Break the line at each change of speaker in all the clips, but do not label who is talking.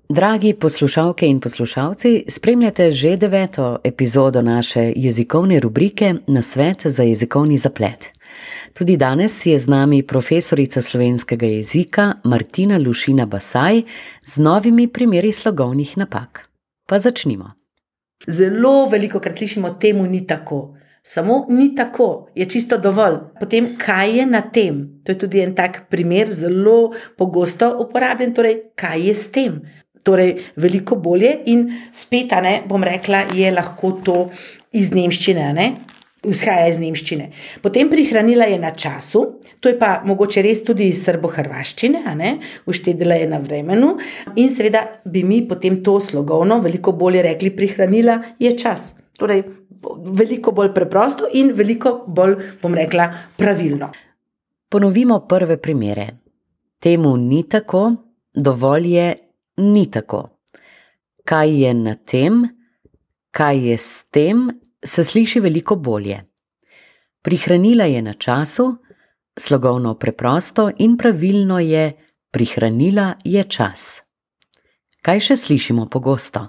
Dragi poslušalke in poslušalci, spremljate že 9. epizodo naše jezikovne rubrike Nasvet za jezikovni zaplet. Tudi danes je z nami profesorica slovenskega jezika Martina Lušina Basaj z novimi primeri slogovnih napak. Pa začnimo.
Zelo velikokrat slišimo, temu ni tako. Samo ni tako, je čisto dovolj. Potem, kaj je na tem? To je tudi en tak primer, zelo pogosto uporabljen, torej, kaj je s tem? Torej, veliko bolje in spet, bom rekla, je lahko to iz nemščine, izhaja iz nemščine. Potem prihranila je na času, to je pa mogoče res tudi iz srbohrvaščine, uštedila je na vremenu in seveda bi mi potem to slogovno veliko bolje rekli, prihranila je čas. Torej, veliko bolj preprosto in veliko bolj, bom rekla, pravilno.
Ponovimo prve primere. Temu ni tako, dovolj je ni tako. Kaj je na tem, kaj je s tem, se sliši veliko bolje. Prihranila je na času, slogovno preprosto in pravilno je prihranila je čas. Kaj še slišimo pogosto?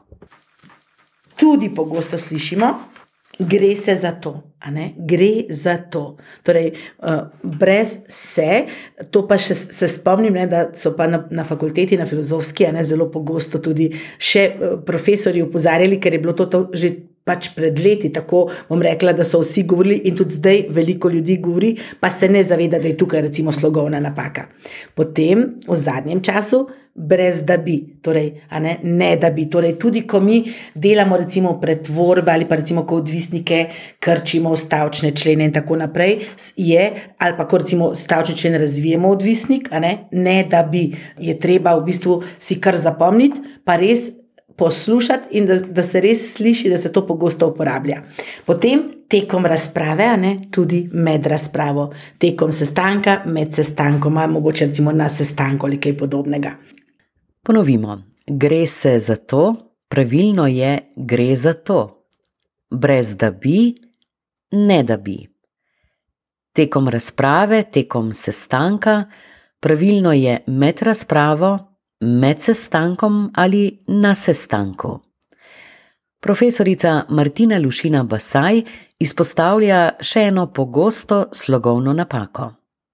Tudi pogosto slišimo, gre se za to, gre za to. Torej, brez se, to pa še se spomnim, da so pa na fakulteti, na filozofski, zelo pogosto tudi še profesori opozarjali, ker je bilo to že pač pred leti, tako bom rekla, da so vsi govorili in tudi zdaj veliko ljudi govori, pa se ne zaveda, da je tukaj recimo slogovna napaka. Potem v zadnjem času brez da bi, torej, ne da bi, torej tudi ko mi delamo recimo pretvorbe ali pa recimo ko odvisnike krčimo v stavčne člene in tako naprej, ali pa ko recimo stavčni člen razvijemo odvisnik, ne da bi, je treba v bistvu si kar zapomniti, pa res poslušati in da se res sliši, da se to pogosto uporablja. Potem tekom razprave, tudi med razpravo, tekom sestanka, med sestankoma, mogoče recimo na sestanku ali kaj podobnega.
Ponovimo, gre se za to, pravilno je gre za to. Brez da bi, ne da bi. Tekom razprave, tekom sestanka, pravilno je med razpravo, med sestankom ali na sestanku. Profesorica Martina Lušina Basaj izpostavlja še eno pogosto slogovno napako.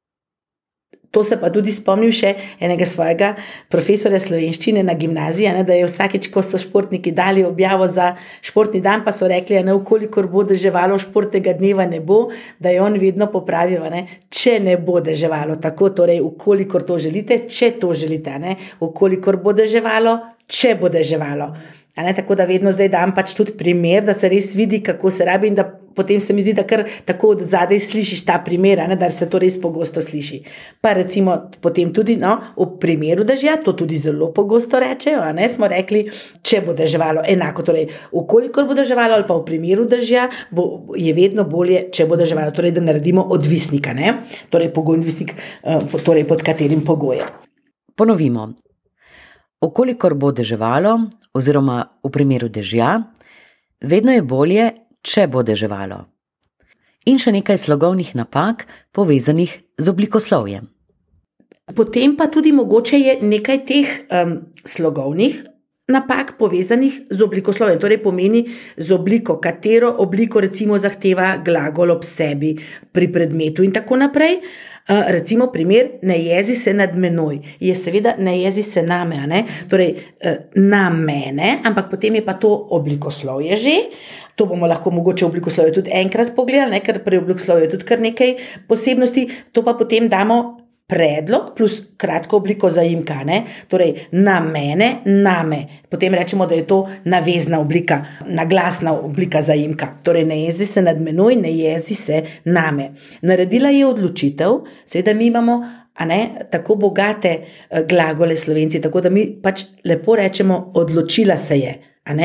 To se pa tudi spomnim še enega svojega profesorja slovenščine na gimnaziji, da je vsakič, ko so športniki dali objavo za športni dan, pa so rekli, ukolikor bo deževalo, športnega dneva ne bo, da je on vedno popravil, če ne bo deževalo, tako torej, ukolikor to želite, če to želite, ukolikor bo deževalo, če bo deževalo. Tako da vedno zdaj dam pač tudi primer, da se res vidi, kako se rabi in da potem se mi zdi, da kar tako od zadaj slišiš ta primer, da se to res pogosto sliši. Pa recimo potem tudi v primeru dežja, to tudi zelo pogosto rečejo, smo rekli, če bo deževalo, enako, torej ukolikor bo deževalo ali pa v primeru dežja, je vedno bolje, če bo deževalo, torej da naredimo odvisnika, torej pogojni odvisnik, torej pod katerim pogojem.
Ponovimo. Ukolikor bo deževalo, oziroma v primeru dežja, vedno je bolje, če bo deževalo. In še nekaj slogovnih napak, povezanih z oblikoslovjem.
Potem pa tudi mogoče je nekaj teh slogovnih napak povezanih z oblikoslovjem, torej pomeni z obliko, katero obliko recimo zahteva glagol ob sebi pri predmetu in tako naprej. Recimo primer, ne jezi se nad menoj, je seveda ne jezi se name, torej na mene, ampak potem je pa to oblikoslovje že, to bomo lahko mogoče oblikoslovje tudi enkrat pogledali, ker pri oblikoslovju je tudi kar nekaj posebnosti, to pa potem damo predlog plus kratko obliko zaimka, torej na mene, name. Potem rečemo, da je to navezna oblika, naglasna oblika zaimka. Torej ne jezi se nad menoj, ne jezi se name. Naredila je odločitev, seveda mi imamo tako bogate glagole Slovenci, tako da mi pač lepo rečemo, odločila se je,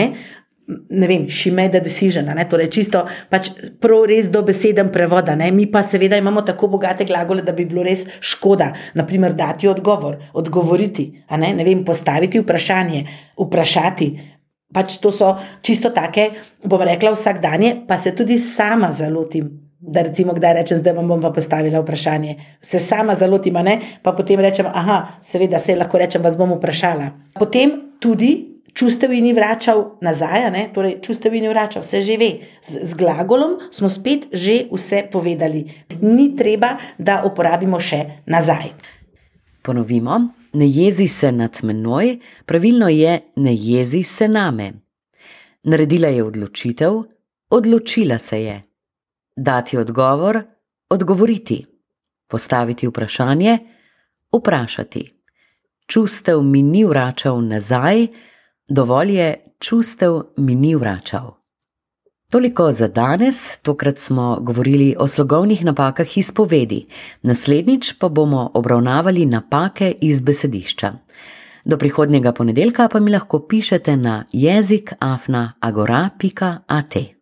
ne vem, she made a decision, torej čisto pač prav res dobeseden prevod, mi pa seveda imamo tako bogate glagole, da bi bilo res škoda, naprimer dati odgovor, odgovoriti, ne vem, postaviti vprašanje, vprašati, pač to so čisto take, bom rekla vsakdanje, pa se tudi sama zalotim, da recimo kdaj rečem, zdaj vam bom pa postavila vprašanje, se sama zalotim, pa potem rečem, seveda se lahko rečem, vas bom vprašala. Potem tudi čustev ji ni vračal nazaj, torej čustev ji ni vračal, se že ve. Z glagolom smo spet že vse povedali. Ni treba, da uporabimo še nazaj.
Ponovimo, ne jezi se nad menoj, pravilno je ne jezi se name. Naredila je odločitev, odločila se je. Dati odgovor, odgovoriti. Postaviti vprašanje, vprašati. Čustev mi ni vračal nazaj, dovolj je, čustev mi ni vračal. Toliko za danes, tokrat smo govorili o slogovnih napakah iz povedi. Naslednjič pa bomo obravnavali napake iz besedišča. Do prihodnjega ponedeljka pa mi lahko pišete na jezik@agora.at.